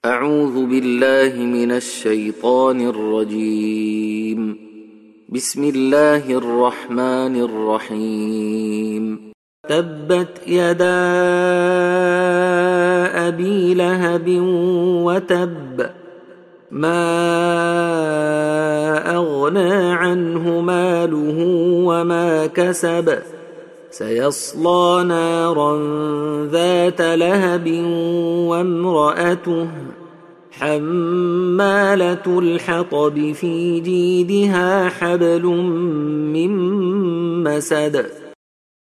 أعوذ بالله من الشيطان الرجيم. بسم الله الرحمن الرحيم. تبت يدا أبي لهب وتب، ما أغنى عنه ماله وما كسب، سيصلى نارا ذات لهب وامرأته حمالة الحطب في جيدها حبل من مسد.